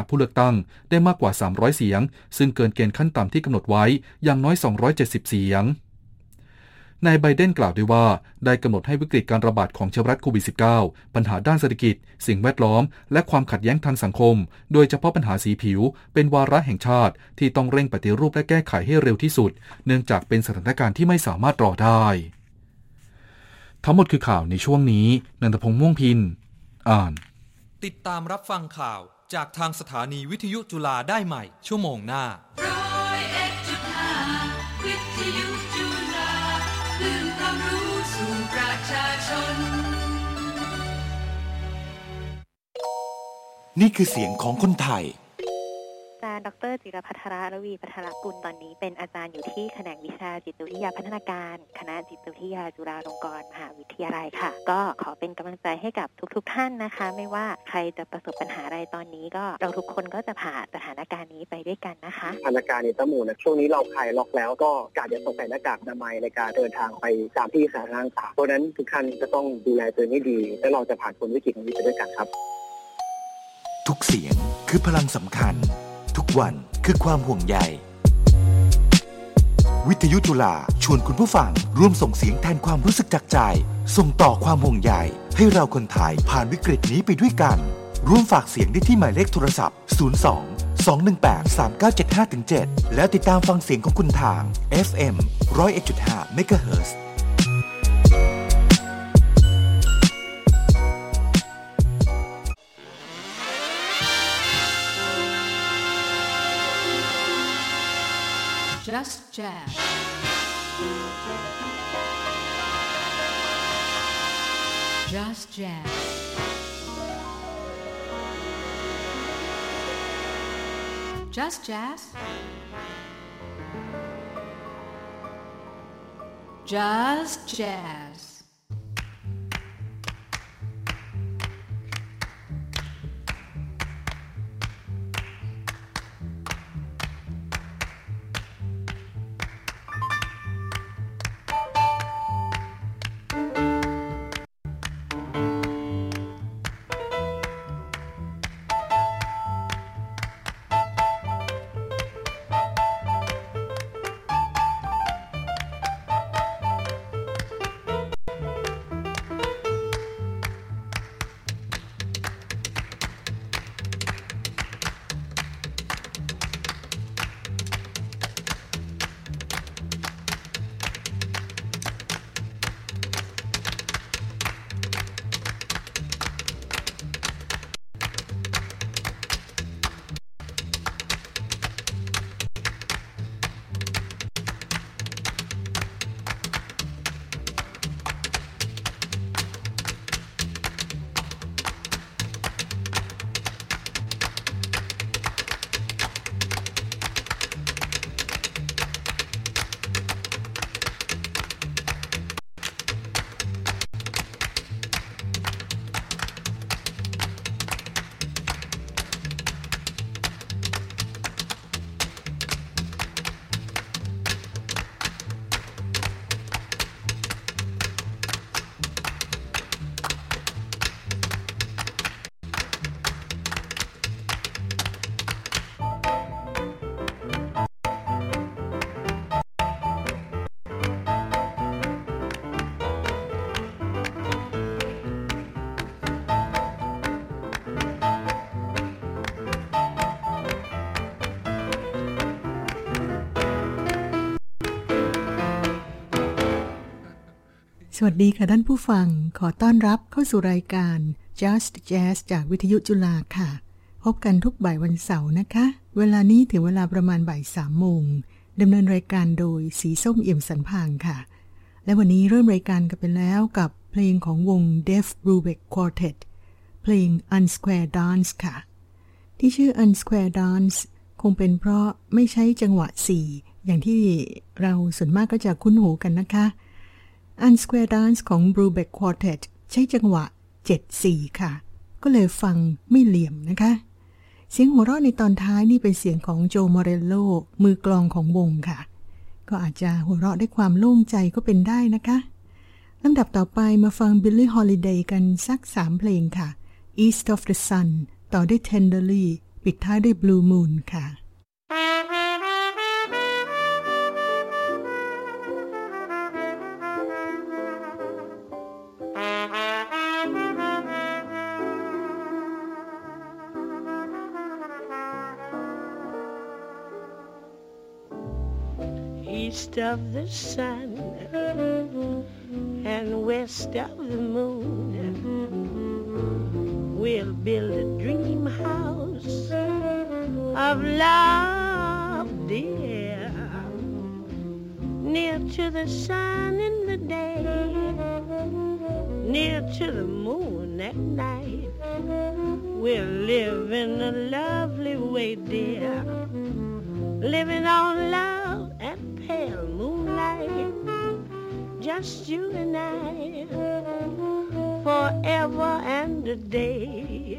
ผู้เลือกตั้งได้มากกว่า300เสียงซึ่งเกินเกณฑ์ขั้นต่ำที่กำหนดไว้อย่างน้อย270เสียงนายไบเดนกล่าวด้วยว่าได้กำหนดให้วิกฤตการระบาดของเชื้อไวรัสโควิด -19 ปัญหาด้านเศรษฐกิจสิ่งแวดล้อมและความขัดแย้งทางสังคมโดยเฉพาะปัญหาสีผิวเป็นวาระแห่งชาติที่ต้องเร่งปฏิรูปและแก้ไขให้เร็วที่สุดเนื่องจากเป็นสถานการณ์ที่ไม่สามารถรอได้ทั้งหมดคือข่าวในช่วงนี้นันทพงษ์ม่วงพินอ่านติดตามรับฟังข่าวจากทางสถานีวิทยุจุฬาได้ใหม่ชั่วโมงหน้านี่คือเสียงของคนไทยอาจารย์ดร.จิรภัทรระวีพัทรกุลตอนนี้เป็นอาจารย์อยู่ที่แขนงวิชาจิตวิทยาพัฒนาการคณะจิตวิทยาจุฬาลงกรณ์มหาวิทยาลัยค่ะก็ขอเป็นกำลังใจให้กับทุกท่านนะคะไม่ว่าใครจะประสบปัญหาอะไรตอนนี้ก็เราทุกคนก็จะผ่านสถานการณ์นี้ไปด้วยกันนะคะสถานการณ์ในตะหมู่นะช่วงนี้เราคลายล็อกแล้วก็การจะต้องใส่หน้ากากอนามัยในการเดินทางไปตามที่สาธารณะต่างเพราะนั้นทุกท่านจะต้องดูแลตัวเองให้ดีและเราจะผ่านพ้นวิกฤตนี้ไปด้วยกันครับทุกเสียงคือพลังสำคัญทุกวันคือความห่วงใยวิทยุจุฬาชวนคุณผู้ฟังร่วมส่งเสียงแทนความรู้สึกจากใจส่งต่อความห่วงใยให้เราคนไทยผ่านวิกฤตนี้ไปด้วยกันร่วมฝากเสียงได้ที่หมายเลขโทรศัพท์02-218-3975-7แล้วติดตามฟังเสียงของคุณทาง FM 101.5 เมกะเฮิรตซ์ Just Jazz. Just Jazz. Just Jazz. Just Jazz. สวัสดีค่ะท่านผู้ฟังขอต้อนรับเข้าสู่รายการ Just Jazz จากวิทยุจุฬาค่ะพบกันทุกบ่ายวันเสาร์นะคะเวลานี้ถึงเวลาประมาณบ่าย 3 โมงดำเนินรายการโดยสีส้มเอี่ยมสันพางค่ะและวันนี้เริ่มรายการกันไปแล้วกับเพลงของวง Def Brubeck Quartet เพลง Unsquare Dance ค่ะที่ชื่อ Unsquare Dance คงเป็นเพราะไม่ใช้จังหวะ4อย่างที่เราส่วนมากก็จะคุ้นหูกันนะคะUnsquare Dance ของ Brubeck Quartet ใช้จังหวะ 7/4 ค่ะก็เลยฟังไม่เหลี่ยมนะคะเสียงหัวเราะในตอนท้ายนี่เป็นเสียงของโจมอเรลโลมือกลองของวงค่ะก็อาจจะหัวเราะด้วยความโล่งใจก็เป็นได้นะคะลำดับต่อไปมาฟัง Billie Holiday กันสัก3เพลงค่ะ East of the Sun ต่อด้วย Tenderly ปิดท้ายด้วย Blue Moon ค่ะ East of the sun and west of the moon, we'll build a dream house of love, dear, near to the sun in the day, near to the moon at night. We'll live in a lovely way, dear, living on love and pale moonlight, just you and I, forever and a day.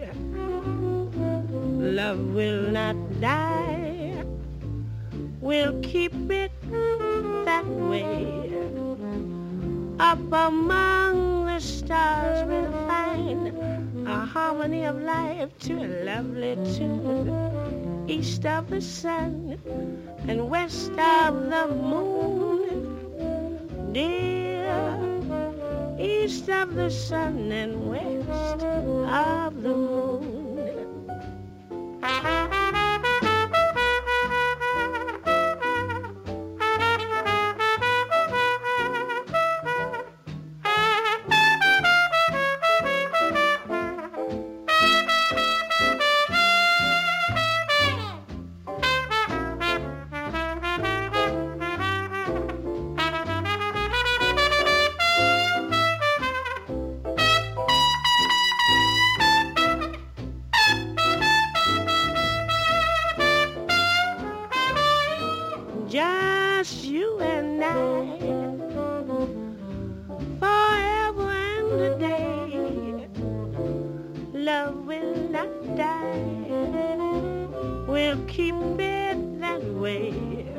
Love will not die, we'll keep it that way. Up among the stars we'll find a harmony of life to a lovely tune. East of the sun and west of the moon, dear. East of the sun and west of the moon. Just you and I, forever and a day. Love will not die, we'll keep it that way.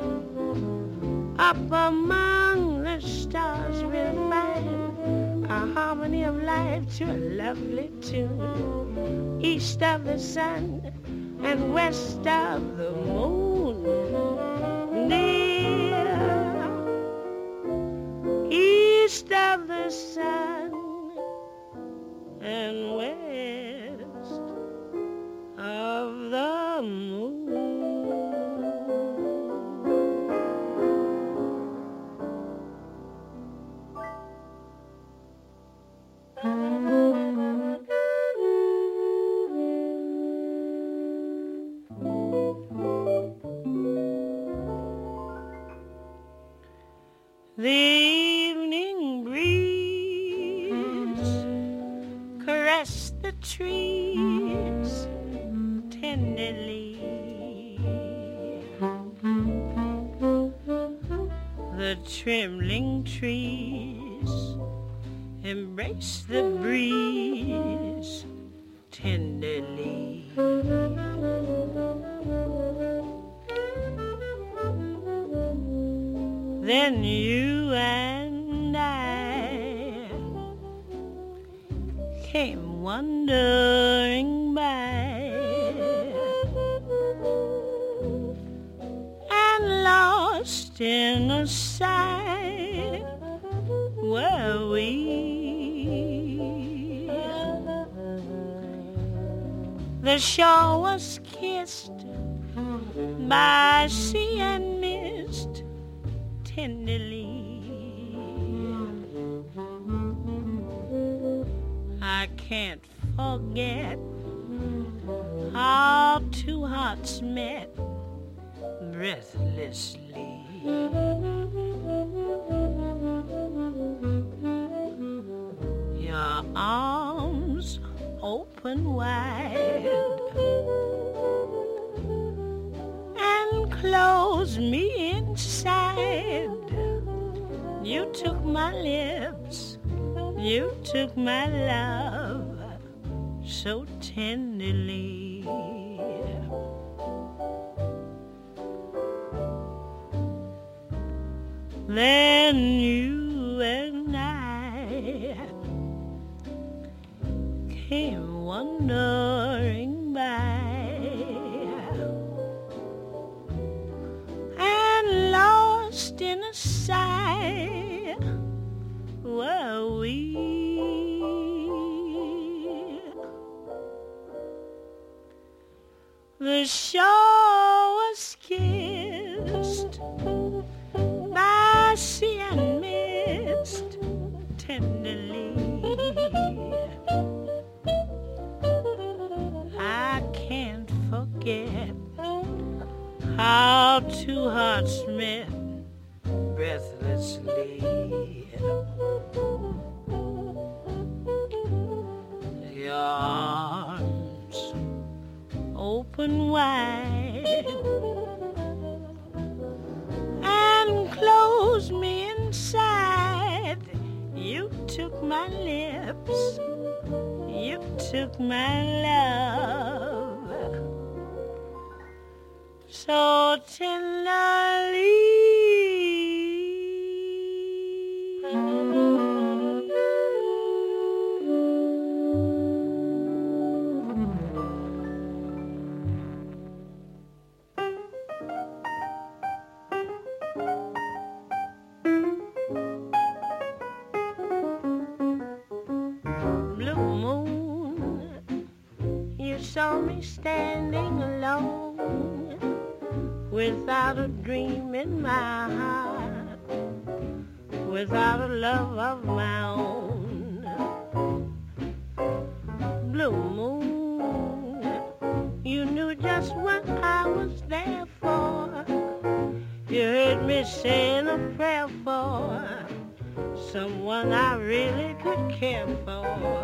Up among the stars we'll find a harmony of life to a lovely tune. East of the sun and west of the moon, dear. East of the sun and west of the moon. The evening breeze caressed the trees tenderly. The trembling trees embraced the breeze tenderly. Then you and I came wandering by, and lost in a sigh were we. The shore was kissed by sea and mist tenderly. I can't forget how two hearts met breathlessly. Your arms open wide and close me inside. You took my lips, you took my love so tenderly. Then you and I came wandering by, were we. The shore was kissed by sea and mist tenderly. I can't forget how two hearts met breathlessly. Your arms open wide and close me inside. You took my lips, you took my love so tenderly. Saw me standing alone without a dream in my heart, without a love of my own. Blue moon, you knew just what I was there for. You heard me saying a prayer for someone I really could care for.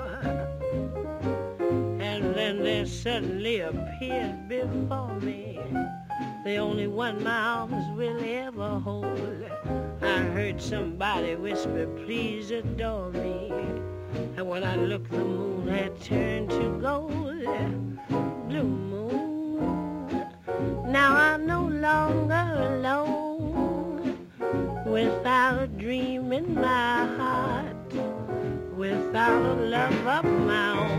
Then there suddenly appeared before me the only one my arms will ever hold. I heard somebody whisper, please adore me. And when I looked, the moon had turned to gold. Blue moon, now I'm no longer alone, without a dream in my heart, without a love of my own.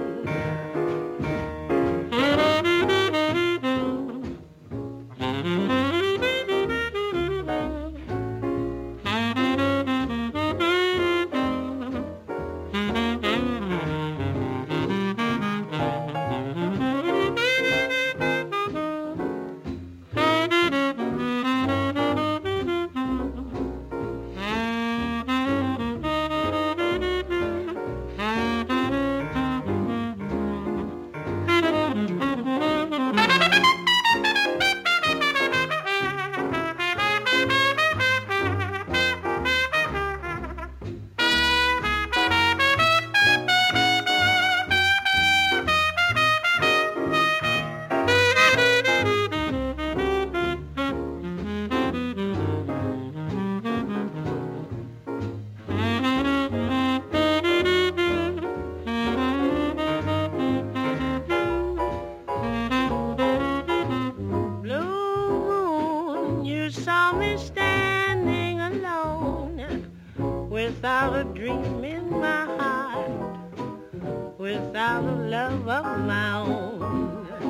Without a dream in my heart, without a love of my own.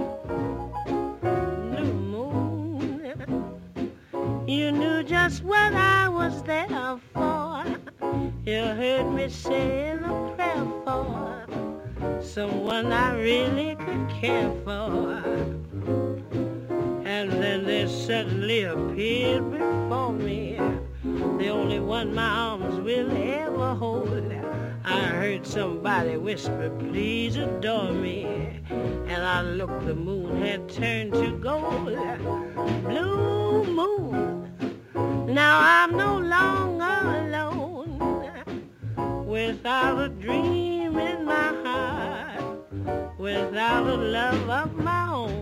Blue moon, you knew just what I was there for. You heard me saying a prayer for someone I really could care for. And then there suddenly appeared before me the only one my arms will ever hold. I heard somebody whisper, please adore me. And I looked, the moon had turned to gold. Blue moon, now I'm no longer alone, without a dream in my heart, without a love of my own.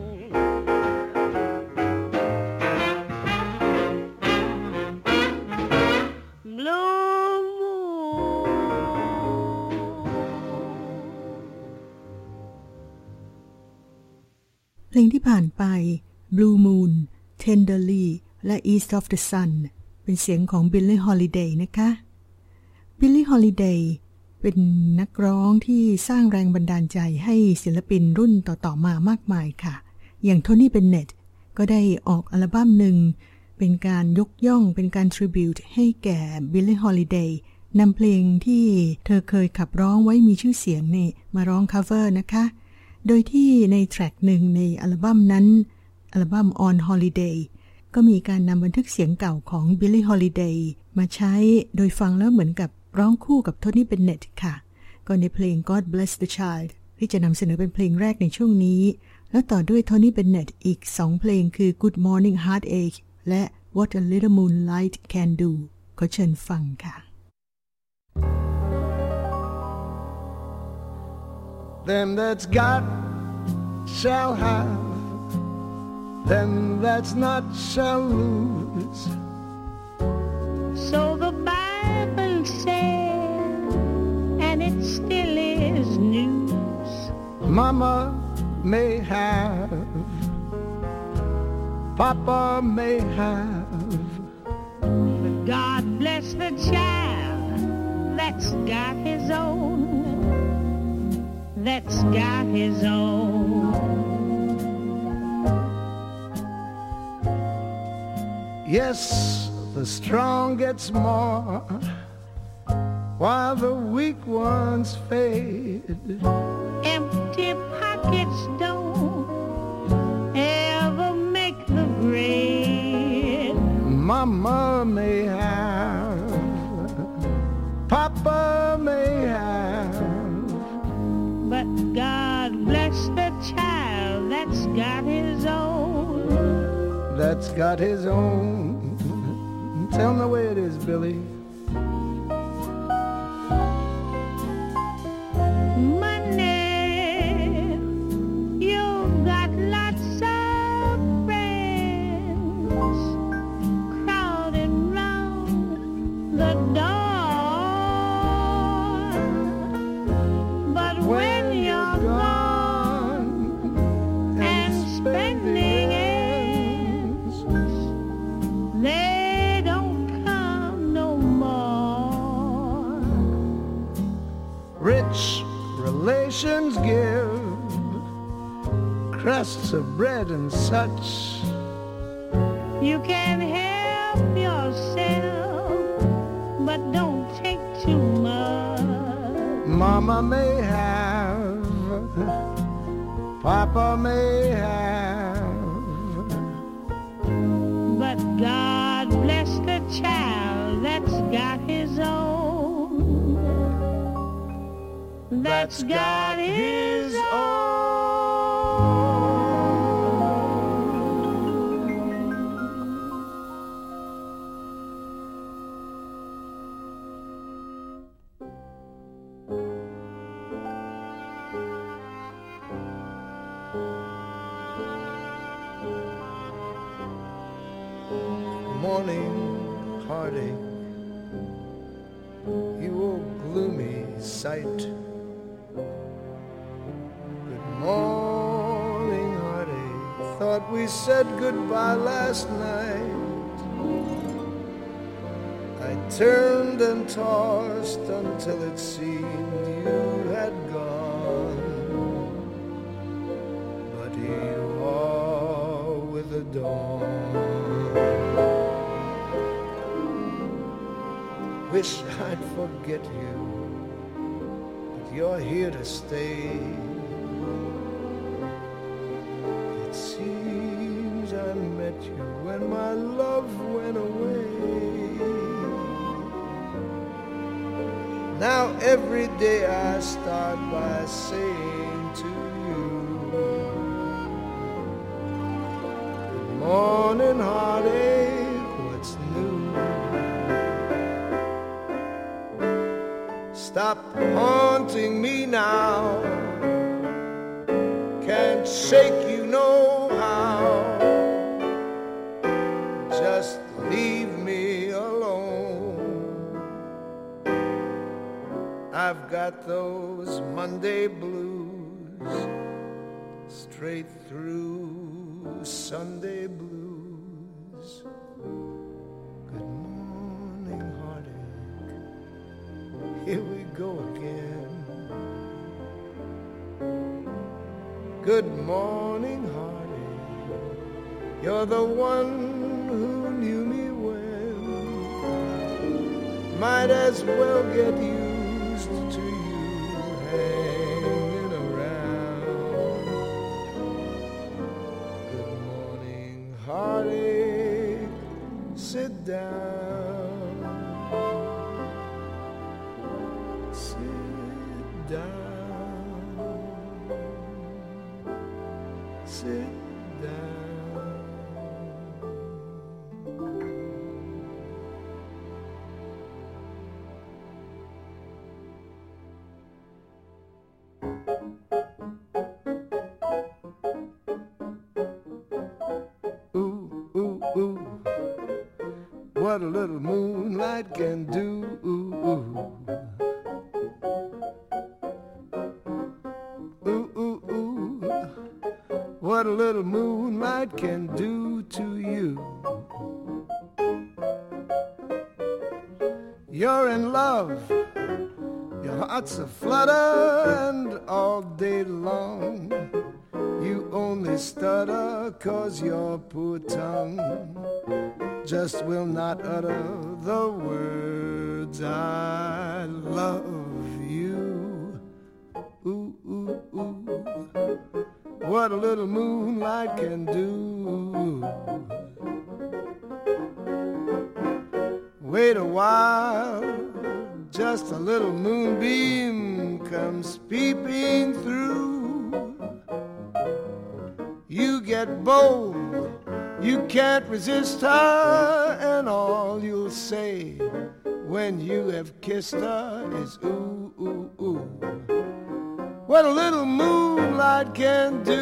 เพลงที่ผ่านไป Blue Moon, Tenderly และ East of the Sun เป็นเสียงของ Billie Holiday นะคะ Billie Holiday เป็นนักร้องที่สร้างแรงบันดาลใจให้ศิลปินรุ่นต่อๆมามากมายค่ะอย่างโทนี่เบนเน็ตก็ได้ออกอัลบั้มหนึ่งเป็นการยกย่องเป็นการ tribute ให้แก่ Billie Holiday นำเพลงที่เธอเคยขับร้องไว้มีชื่อเสียงนี่มาร้อง cover นะคะโดยที่ในแทร็กหนึ่งในอัลบั้มนั้นอัลบั้ม On Holiday ก็มีการนำบันทึกเสียงเก่าของ Billie Holiday มาใช้โดยฟังแล้วเหมือนกับร้องคู่กับโทนี่เบนเน็ตค่ะก็ในเพลง God Bless the Child ที่จะนำเสนอเป็นเพลงแรกในช่วงนี้แล้วต่อด้วยโทนี่เบนเน็ตอีก2เพลงคือ Good Morning Heartache และ What a Little Moonlight Can Do ขอเชิญฟังค่ะ Them that's got shall have, them that's not shall lose. So the Bible said, and it still is news. Mama may have, Papa may have, but God bless the child that's got his own, that's got his own. Yes, the strong gets more, while the weak ones fade. Empty pockets don't ever make the grade. Mama may have, Papa may have, but God bless the child that's got his own, that's got his own. Tell me where it is, Billy. Money, you've got lots of friends crowding round the door, but when you're gone and spending ends, they don't come no more. Rich relations give crusts of bread and such. You can help yourself, but don't take too much. Mama may have, Papa may have, But God bless the child that's got his own, that's got his own. Morning heartache, you old gloomy sight. Good morning heartache, thought we said goodbye last night. I turned and tossed until it seemed you had gone, but here you are with the dawn. Wish I'd forget you, but you're here to stay. It seems I met you when my love went away. Now every day I start by saying to you, good morning heartache, what's new? Stop haunting me now, can't shake you no how. Just leave me alone. I've got those Monday blues, straight through Sunday blues. Good morning heartache, here we go again. Good morning, heartache, you're the one who knew me when might as well get used to you hanging around. Good morning, heartache, sit down, sit down, sit down. What a little moonlight can do. Ooh, ooh. Ooh, ooh, ooh. What a little moonlight can do to you. You're in love, your heart's a flutter, and all day long you only stutter 'cause your poor tongue just will not utter the words I love you. Ooh, ooh, ooh. What a little moonlight can do. Wait a while, just a little moonbeam comes peeping through. You get bold, you can't resist her, and all you'll say when you have kissed her is ooh, ooh, ooh. What a little moonlight can do.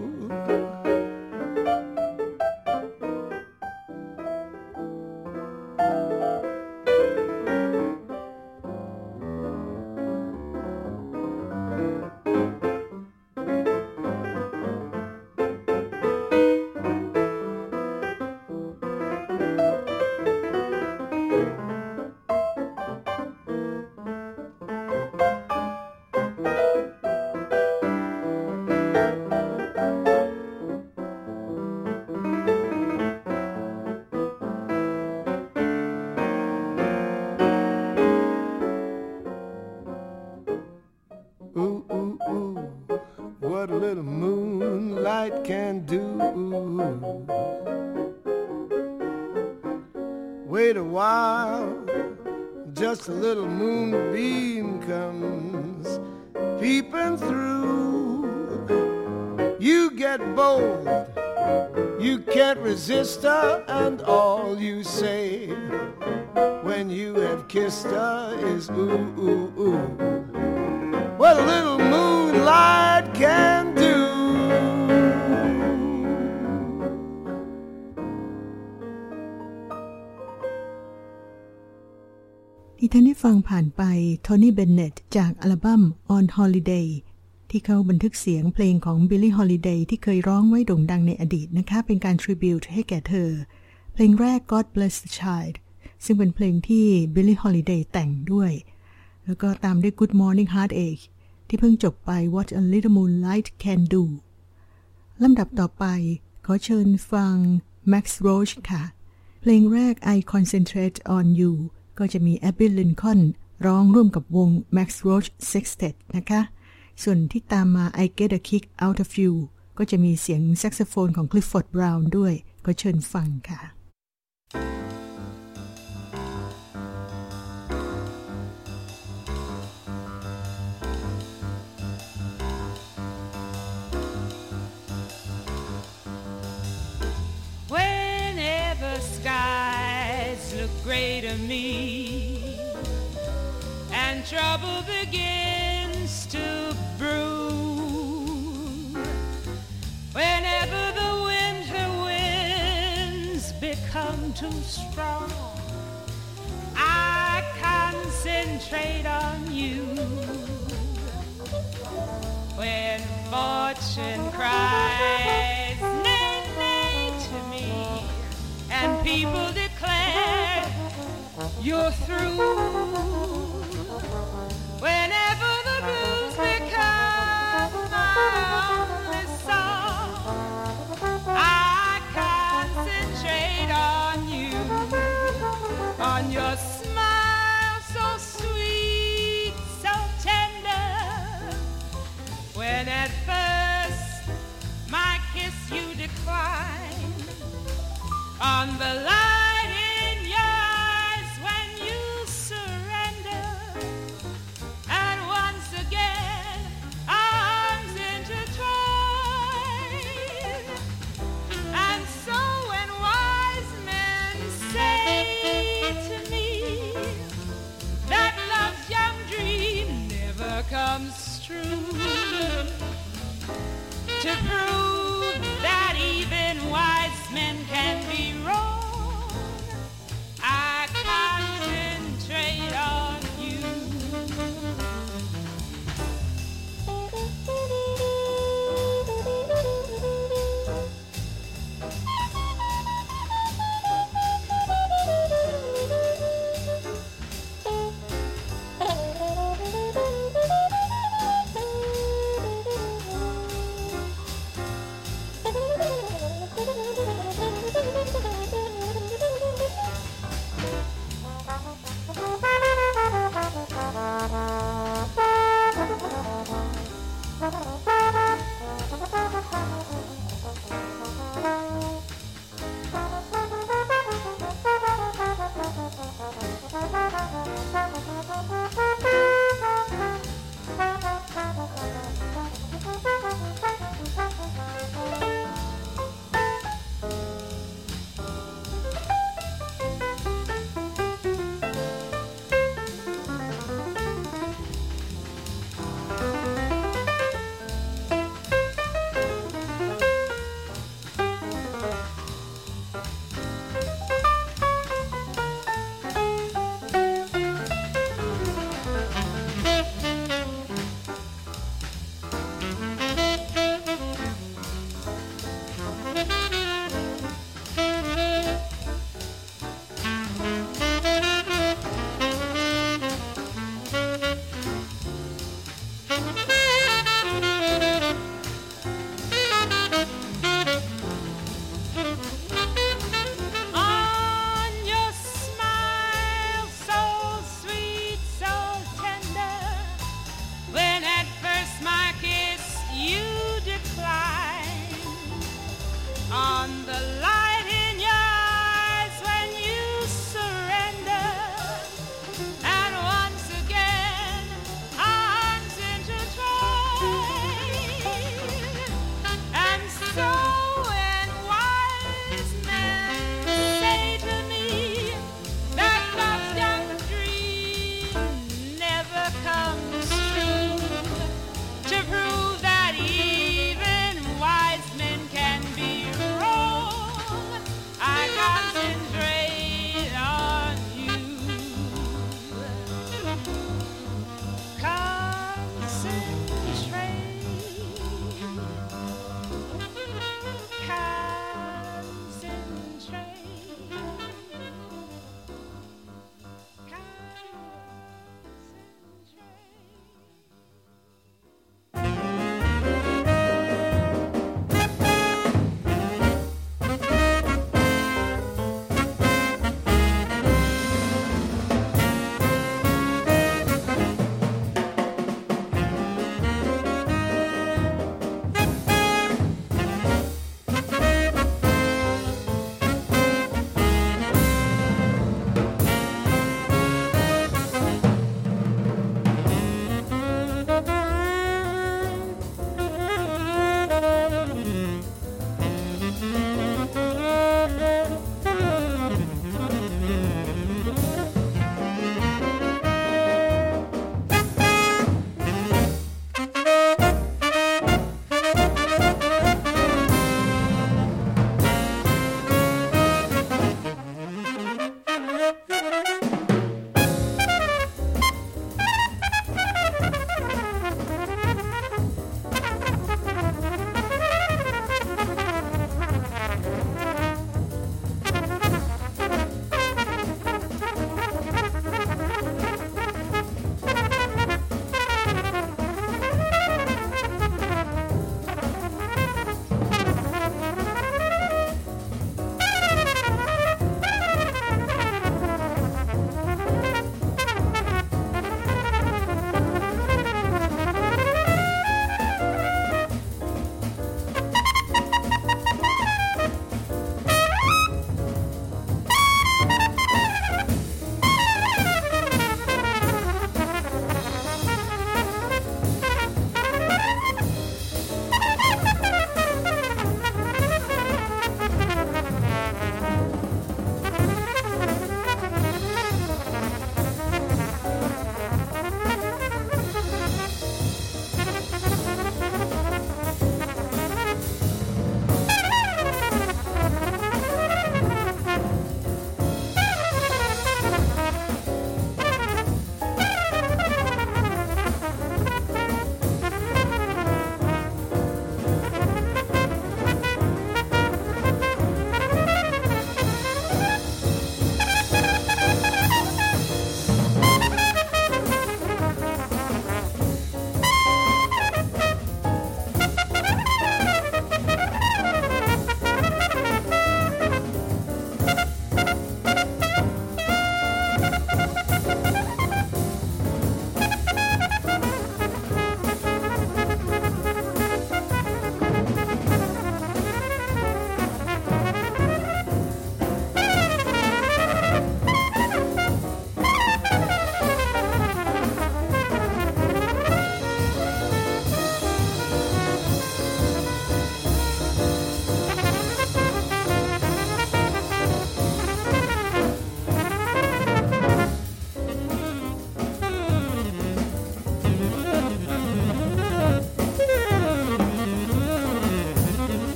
Wait a while, just a little moonbeam comes peeping through. You get bold, you can't resist her, and all you say when you have kissed her is ooh, ooh, ooh. What a little moonlight can do. ที่ท่านได้ฟังผ่านไปโทนี่เบนเนตจากอัลบั้ม On Holiday ที่เขาบันทึกเสียงเพลงของ Billie Holiday ที่เคยร้องไว้โด่งดังในอดีตนะคะเป็นการ tribute ให้แก่เธอเพลงแรก God Bless the Child ซึ่งเป็นเพลงที่ Billie Holiday แต่งด้วยแล้วก็ตามด้วย Good Morning Heartache ที่เพิ่งจบไป What a Little Moonlight Can Do ลำดับต่อไปขอเชิญฟัง Max Roach ค่ะเพลงแรก I Concentrate on Youก็จะมี Abby Lincoln ร้องร่วมกับวง Max Roach Sextet นะคะส่วนที่ตามมา I Get a Kick Out of You ก็จะมีเสียงแซกโซโฟนของ Clifford Brown ด้วยก็เชิญฟังค่ะ Whenever skies look gray to me and trouble begins to brew, whenever the winter winds become too strong, I concentrate on you. When fortune cries nay, nay to me and people declare you're through, whenever the blues become my only song, I concentrate on smile so sweet, so tender, when at first my kiss you declined, on the light in your eyes when you surrender, and once again arms intertwine. And so when wise men say to me that love's young dream never comes true, to prove that even wise men can be wrong,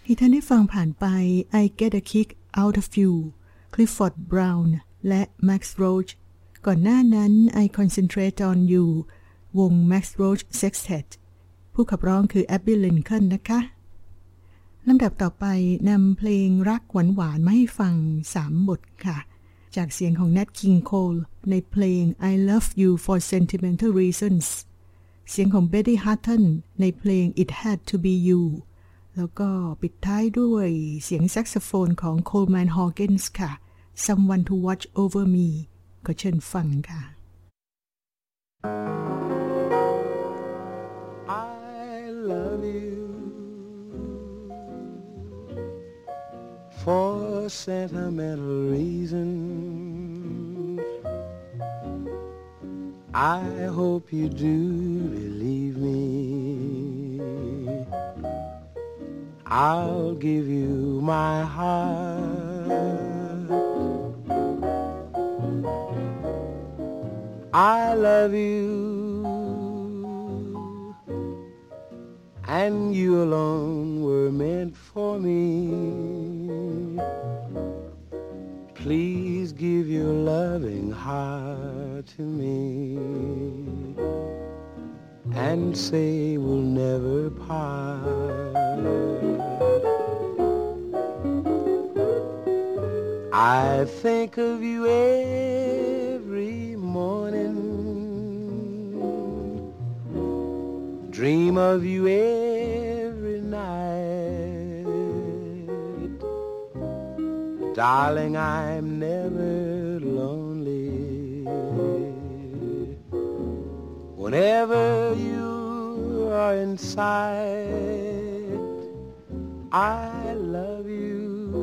ที่ท่านได้ฟังผ่านไป I Get a Kick Out of You Clifford Brown และ Max Roach ก่อนหน้านั้น I Concentrate on You วง Max Roach Sextet ผู้ขับร้องคือ Abby Lincoln นะคะลำดับต่อไปนำเพลงรักหวานๆมาให้ฟัง3บทค่ะจากเสียงของ Nat King Cole ในเพลง I Love You for Sentimental Reasons เสียงของ Betty Hutton ในเพลง It Had to Be You แล้วก็ปิดท้ายด้วยเสียงแซกโซโฟนของ Coleman Hawkins ค่ะ Someone to Watch Over Me ก็เชิญฟังค่ะ I love you for sentimental reasons. I hope you do believe me. I'll give you my heart. I love you, and you alone were meant for me. Please give your loving heart to me and say we'll never part. I think of you every morning, dream of you every night. Darling, I'm never lonely whenever you are in sight. I love you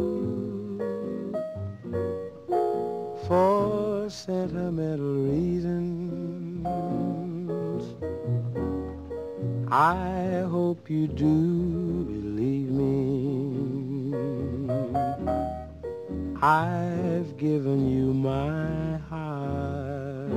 for sentimental reasons. I hope you do believe me. I've given you my heart.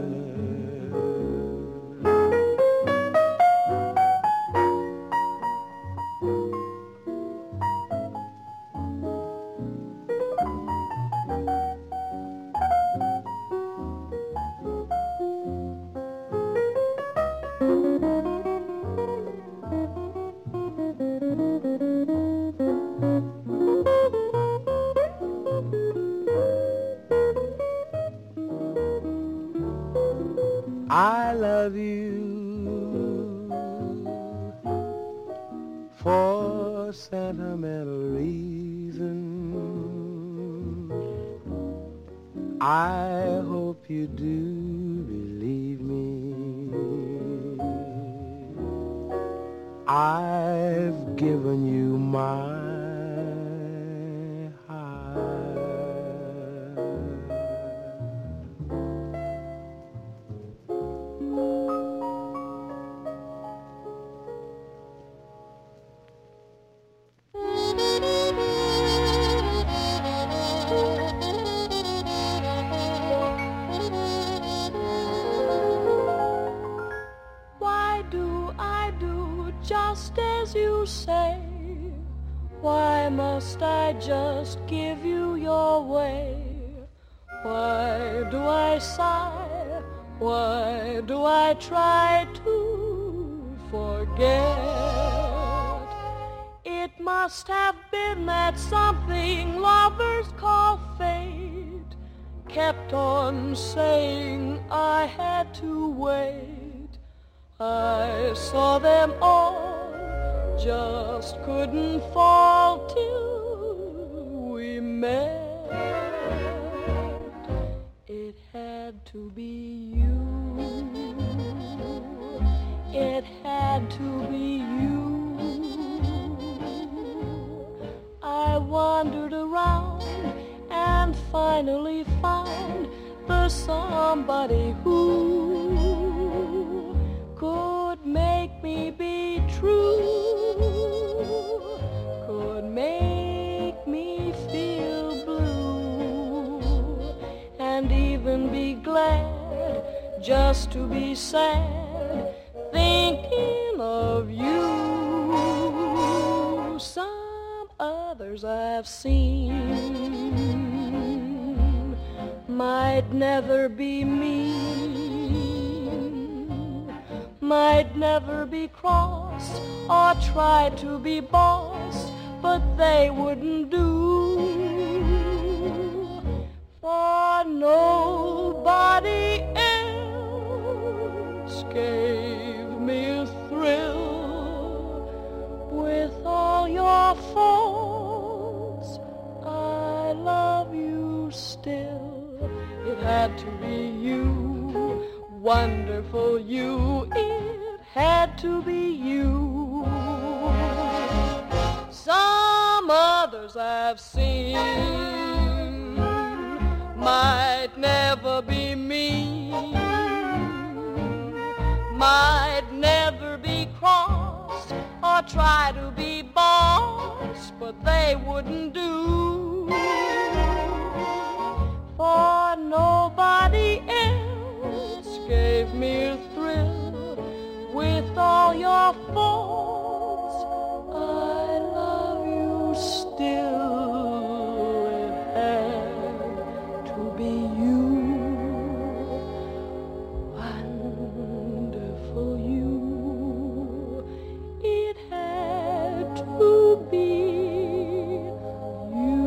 I love you for sentimental reasons. I hope you do believe me. I've given you my just as you say. Why must I just give you your way? Why do I sigh? Why do I try to forget? It must have been that something lovers call fate kept on saying I had to wait. I saw them all, just couldn't fall till we met. It had to be you. It had to be you. I wandered around and finally found the somebody who could make me be true, could make me feel blue, and even be glad just to be sad, thinking of you. Some others I've seen might never be mean, might never be cross or try to be boss, but they wouldn't do, for nobody else gave me a thrill. With all your faults, I love you still. It had to be you, wonderful you, it had to be you. Some others I've seen might never be mean, might never be cross or try to be boss, but they wouldn't do, for nobody else gave me a thrill. With all your faults, I love you still. It had to be you, wonderful you. It had to be you.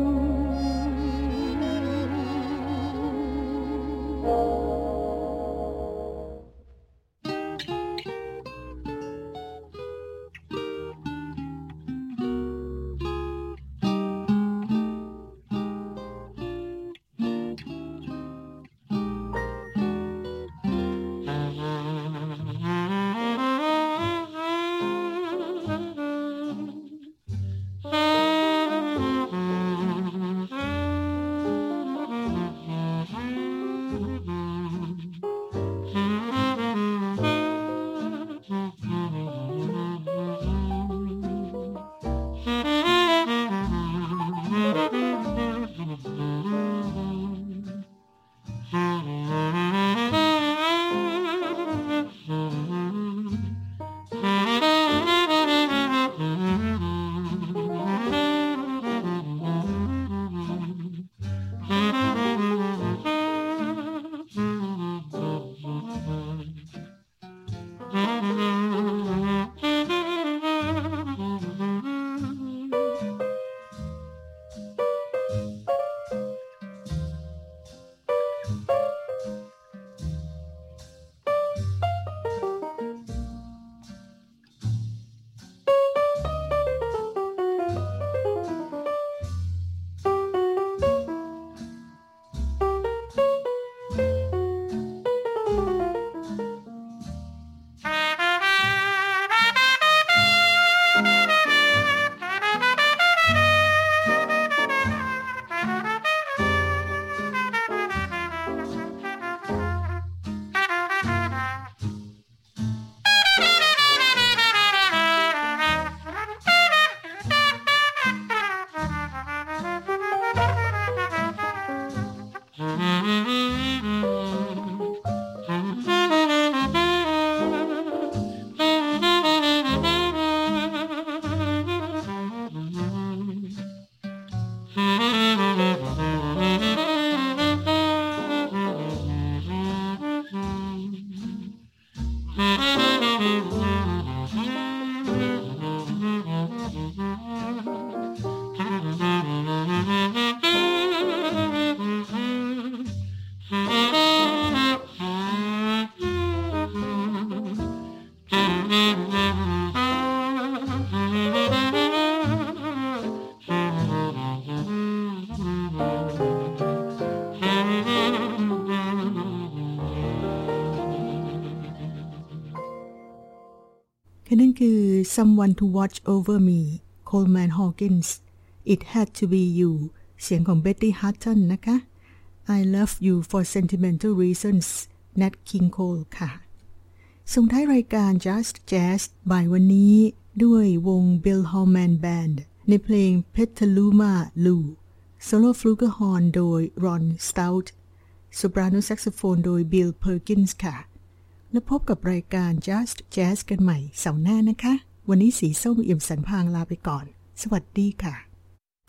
นั่นคือ Someone to Watch Over Me Coleman Hawkins It Had to Be You เสียงของ Betty Hutton นะคะ I Love You for Sentimental Reasons Nat King Cole ค่ะส่งท้ายรายการ Just Jazz บ่ายวันนี้ด้วยวง Bill Holman Band ในเพลง Petaluma Lou โซโล่ฟลูเกอร์ฮอร์นโดย Ron Stout โซปราโนแซกโซโฟนโดย Bill Perkins ค่ะแล้วพบกับรายการ Just Jazz กันใหม่เสาร์หน้านะคะวันนี้สีส้มเอี่ยมสันพางลาไปก่อนสวัสดีค่ะ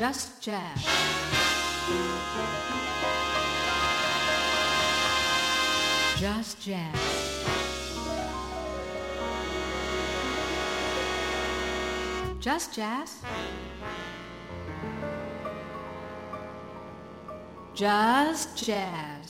Just Jazz. Just Jazz. Just Jazz. Just Jazz.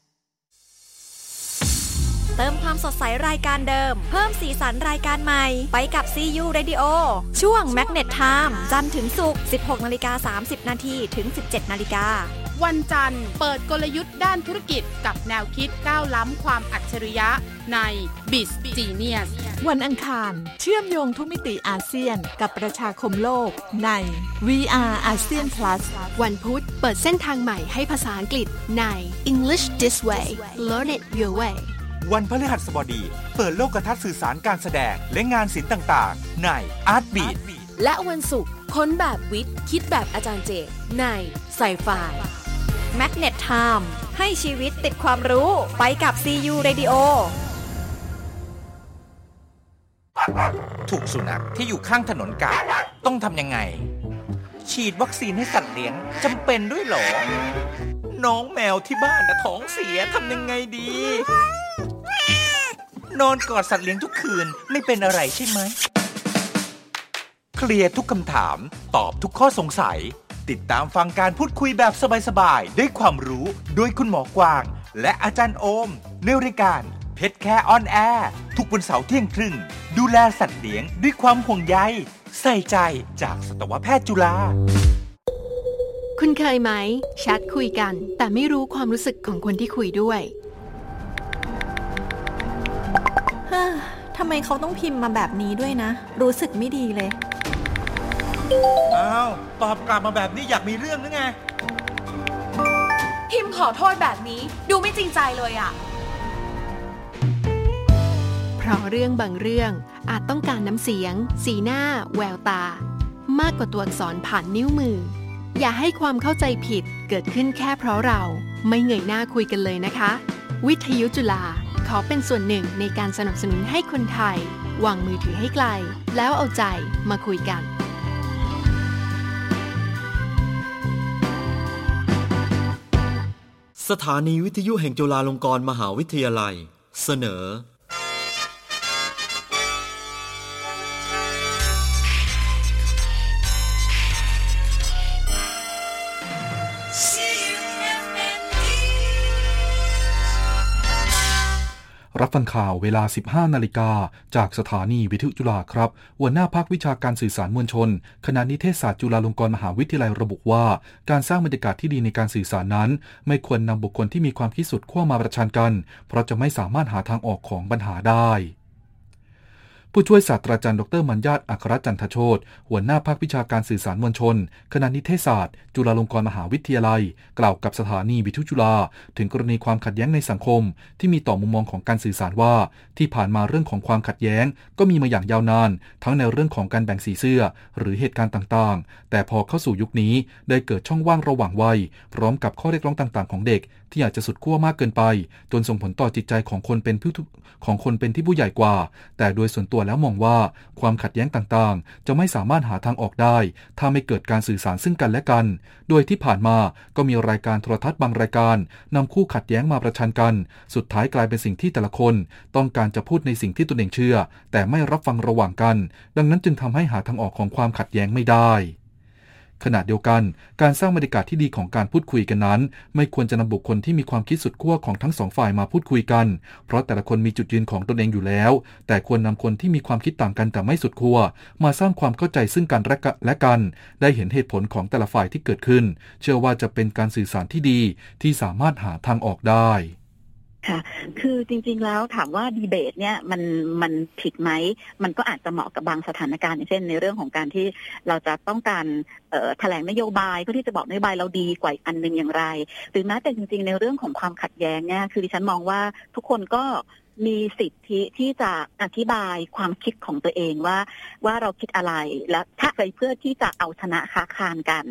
เติมความสดใสรายการเดิมเพิ่มสีสันรายการใหม่ไปกับ CU Radio ช่วง Magnet Time จันทร์ถึงศุกร์ 16:30 น.ถึง 17:00 น. วันจันทร์เปิดกลยุทธ์ด้านธุรกิจกับแนวคิดก้าวล้ำความอัจฉริยะใน Biz Genius วันอังคารเชื่อมโยงทุกมิติอาเซียนกับประชาคมโลกใน VR ASEAN Plus วันพุธเปิดเส้นทางใหม่ให้ภาษาอังกฤษใน English This Way Learn it your way วันพฤหัสบดีเปิดโลกทัศน์สื่อสารการแสดงและงานศิลป์ต่างๆใน Art Beat และวันศุกร์ค้นแบบวิทย์คิดแบบอาจารย์เจใน Sci-Fi Magnet Time ให้ชีวิตติดความรู้ไปกับ CU Radio ถูกสุนัขที่อยู่ข้างถนนกัดต้องทำยังไงฉีดวัคซีนให้สัตว์เลี้ยงจำเป็นด้วยเหรอน้องแมวที่บ้านท้องเสียทำยังไงดีนอนกอดสัตว์เลี้ยงทุกคืนไม่เป็นอะไรใช่ไหมเคลียร์ทุกคำถามตอบทุกข้อสงสัยติดตามฟังการพูดคุยแบบสบายๆด้วยความรู้โดยคุณหมอกวางและอาจารย์โอมในรายการเพชรแคร์ออนแอร์ทุกวันเสาร์เที่ยงครึ่งดูแลสัตว์เลี้ยงด้วยความห่วงใยใส่ใจจากสัตวแพทย์จุฬาคุณเคยไหมแชทคุยกันแต่ไม่รู้ความรู้สึกของคนที่คุยด้วยทำไมเขาต้องพิมพ์มาแบบนี้ด้วยนะรู้สึกไม่ดีเลยอ้าวตอบกลับมาแบบนี้อยากมีเรื่องหรือไงพิมพ์ขอโทษแบบนี้ดูไม่จริงใจเลยอ่ะเพราะเรื่องบางเรื่องอาจต้องการน้ำเสียงสีหน้าแววตามากกว่าตัวอักษรผ่านนิ้วมืออย่าให้ความเข้าใจผิดเกิดขึ้นแค่เพราะเราไม่เงยหน้าคุยกันเลยนะคะวิทยุจุฬาขอเป็นส่วนหนึ่งในการสนับสนุนให้คนไทยวางมือถือให้ไกลแล้วเอาใจมาคุยกันสถานีวิทยุแห่งจุฬาลงกรณ์มหาวิทยาลัยเสนอรับฟังข่าวเวลา 15 นาฬิกาจากสถานีวิทยุจุฬาครับหัวหน้าภาควิชาการสื่อสารมวลชนคณะนิเทศศาสตร์จุฬาลงกรณ์มหาวิทยาลัยระบุว่าการสร้างบรรยากาศที่ดีในการสื่อสารนั้นไม่ควรนำบุคคลที่มีความคิดสุดขั้วมาประชันกันเพราะจะไม่สามารถหาทางออกของปัญหาได้ผู้ช่วยศาสตราจารย์ดร.มัญญาตอัครจันทโชติหัวหน้าภาควิชาการสื่อสารมวลชนคณะนิเทศศาสตร์จุฬาลงกรณ์มหาวิทยาลัยกล่าวกับสถานีวิทยุจุฬาถึงกรณีความขัดแย้งในสังคมที่มีต่อมุมมองของการสื่อสารว่าที่ผ่านมาเรื่องของความขัดแย้งก็มีมาอย่างยาวนานทั้งในเรื่องของการแบ่งสีเสื้อหรือเหตุการณ์ต่างๆแต่พอเข้าสู่ยุคนี้ได้เกิดช่องว่างระหว่างวัยพร้อมกับข้อเรียกร้องต่างๆของเด็กที่อาจจะสุดขั้วมากเกินไปจนส่งผลต่อจิตใจของคนเป็นที่ผู้ใหญ่กว่าแต่โดยส่วนตัวแล้วมองว่าความขัดแย้งต่างๆจะไม่สามารถหาทางออกได้ถ้าไม่เกิดการสื่อสารซึ่งกันและกันโดยที่ผ่านมาก็มีรายการโทรทัศน์บางรายการนำคู่ขัดแย้งมาประชันกันสุดท้ายกลายเป็นสิ่งที่แต่ละคนต้องการจะพูดในสิ่งที่ตนเองเชื่อแต่ไม่รับฟังระหว่างกันดังนั้นจึงทำให้หาทางออกของความขัดแย้งไม่ได้ขณะเดียวกันการสร้างบรรยากาศที่ดีของการพูดคุยกันนั้นไม่ควรจะนำบุคคลที่มีความคิดสุดขั้วของทั้งสองฝ่ายมาพูดคุยกันเพราะแต่ละคนมีจุดยืนของตนเองอยู่แล้วแต่ควรนำคนที่มีความคิดต่างกันแต่ไม่สุดขั้วมาสร้างความเข้าใจซึ่งกันและกันได้เห็นเหตุผลของแต่ละฝ่ายที่เกิดขึ้นเชื่อว่าจะเป็นการสื่อสารที่ดีที่สามารถหาทางออกได้ค่ะคือจริงๆแล้วถามว่าดีเบตเนี่ยมันผิดไหมมันก็อาจจะเหมาะกับบางสถานการณ์เช่นในเรื่องของการที่เราจะต้องการแถลงนโยบายเพื่อที่จะบอกนโยบายเราดีกว่าอันนึงอย่างไรหรือแม้แต่จริงๆในเรื่องของความขัดแย้งเนี่ยคือดิฉันมองว่าทุกคนก็มีสิทธิที่จะอธิบายความคิดของตัวเองว่าเราคิดอะไรและถ้าใครเพื่อที่จะเอาชนะค้าคานกัน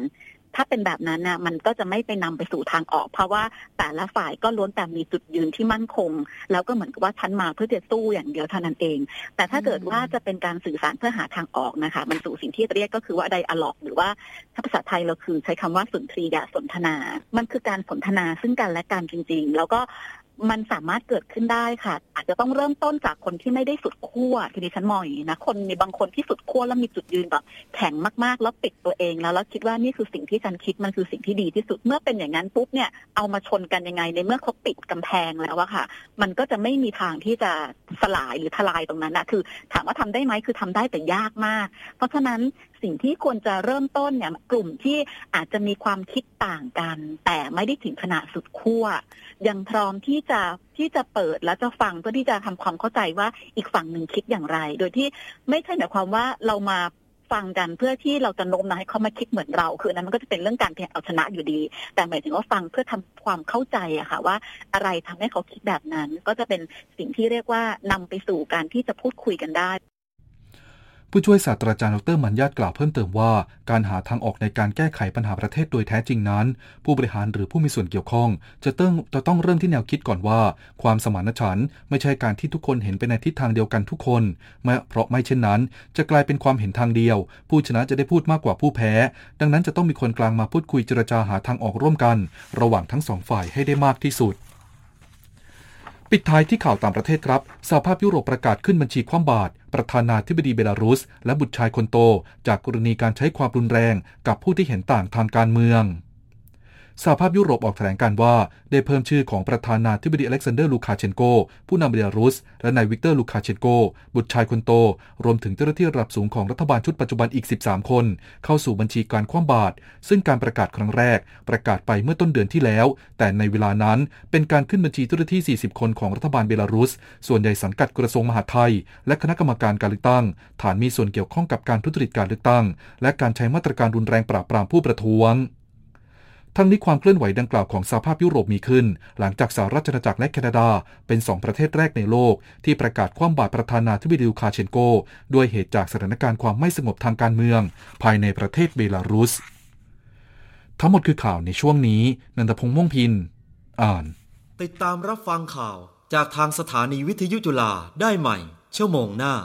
ถ้าเป็นแบบนั้นนะมันก็จะไม่ไปนำไปสู่ทางออกเพราะว่าแต่ละฝ่ายก็ล้วนแต่มีจุดยืนที่มั่นคงแล้วก็เหมือนกับว่าฉันมาเพื่อจะสู้อย่างเดียวเท่านั้นเองแต่ถ้าเกิดว่าจะเป็นการสื่อสารเพื่อหาทางออกนะคะมันสู่สิ่งที่เรียกก็คือว่าไดอะล็อกหรือว่าถ้าภาษาไทยเราคือใช้คำว่าสุนทรียสนทนามันคือการสนทนาซึ่งกันและกันจริงๆแล้วก็มันสามารถเกิดขึ้นได้ค่ะอาจจะต้องเริ่มต้นจากคนที่ไม่ได้สุดขั้วทีนี้ฉันมองอย่างนี้นะคนมีบางคนที่สุดขั้วแล้วมีจุดยืนแบบแข็งมากๆแล้วปิดตัวเองแล้วคิดว่านี่คือสิ่งที่ฉันคิดมันคือสิ่งที่ดีที่สุดเมื่อเป็นอย่างนั้นปุ๊บเนี่ยเอามาชนกันยังไงในเมื่อเขาปิดกำแพงแล้วอะค่ะมันก็จะไม่มีทางที่จะสลายหรือทลายตรงนั้นนะคือถามว่าทำได้ไหมคือทำได้แต่ยากมากเพราะฉะนั้นสิ่งที่ควรจะเริ่มต้นเนี่ยกลุ่มที่อาจจะมีความคิดต่างกันแต่ไม่ได้ถึงขนาดสุดขั้วยังพร้อมที่จะเปิดและจะฟังเพื่อที่จะทำความเข้าใจว่าอีกฝั่งหนึ่งคิดอย่างไรโดยที่ไม่ใช่หมายความว่าเรามาฟังกันเพื่อที่เราจะโน้มน้าวให้เขามาคิดเหมือนเราคือนั้นมันก็จะเป็นเรื่องการเอาชนะอยู่ดีแต่หมายถึงว่าฟังเพื่อทำความเข้าใจอะค่ะว่าอะไรทำให้เขาคิดแบบนั้นก็จะเป็นสิ่งที่เรียกว่านำไปสู่การที่จะพูดคุยกันได้ผู้ช่วยศาสตราจารย์ดร.มัญญาตกล่าวเพิ่มเติมว่าการหาทางออกในการแก้ไขปัญหาประเทศโดยแท้จริงนั้นผู้บริหารหรือผู้มีส่วนเกี่ยวข้องจะต้องเริ่มที่แนวคิดก่อนว่าความสมานฉันท์ไม่ใช่การที่ทุกคนเห็นไปในทิศทางเดียวกันทุกคนเพราะไม่เช่นนั้นจะกลายเป็นความเห็นทางเดียวผู้ชนะจะได้พูดมากกว่าผู้แพ้ดังนั้นจะต้องมีคนกลางมาพูดคุยเจรจาหาทางออกร่วมกันระหว่างทั้งสองฝ่ายให้ได้มากที่สุดปิดท้ายที่ข่าวต่างประเทศครับสหภาพยุโรปประกาศขึ้นบัญชีคว่ำบาตรประธานาธิบดีเบลารุสและบุตรชายคนโตจากกรณีการใช้ความรุนแรงกับผู้ที่เห็นต่างทางการเมืองสหภาพยุโรปออกแถลงการว่าได้เพิ่มชื่อของประธานาธิบดีอเล็กซานเดอร์ลูคาเชนโกผู้นำเบลารุสและนายวิกเตอร์ลูคาเชนโกบุตรชายคนโตรวมถึงเจ้าหน้าที่ระดับสูงของรัฐบาลชุดปัจจุบันอีก13คนเข้าสู่บัญชีการคว่ำบาตรซึ่งการประกาศครั้งแรกประกาศไปเมื่อต้นเดือนที่แล้วแต่ในเวลานั้นเป็นการขึ้นบัญชีเจ้าหน้าที่40คนของรัฐบาลเบลารุสส่วนใหญ่สังกัดกระทรวงมหาดไทยและคณะกรรมการการเลือกตั้งฐานมีส่วนเกี่ยวข้องกับการทุจริตการเลือกตั้งและการใช้มาตรการรุนแรงปราบปรามผู้ประท้วงทั้งนี้ความเคลื่อนไหวดังกล่าวของสหภาพยุโรปมีขึ้นหลังจากสหรัฐอาณาจักรและแคนาดาเป็น2ประเทศแรกในโลกที่ประกาศคว่ำบาตรประธานาธิบดีลูคาเชนโกด้วยเหตุจากสถานการณ์ความไม่สงบทางการเมืองภายในประเทศเบลารุสทั้งหมดคือข่าวในช่วงนี้นันทพงษ์ม่วงพินอ่านติดตามรับฟังข่าวจากทางสถานีวิทยุจุฬาได้ใหม่ชั่วโมงหน้า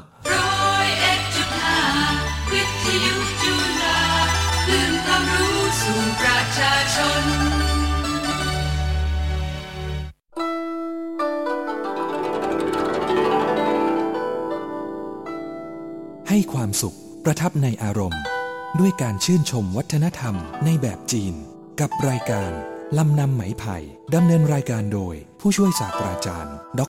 วิทยุจุฬาคลื่นความรู้สู่ประชาชนให้ความสุขประทับในอารมณ์ด้วยการชื่นชมวัฒนธรรมในแบบจีนกับรายการลำนำไหมไผ่ดำเนินรายการโดยผู้ช่วยศาสตราจารย์ด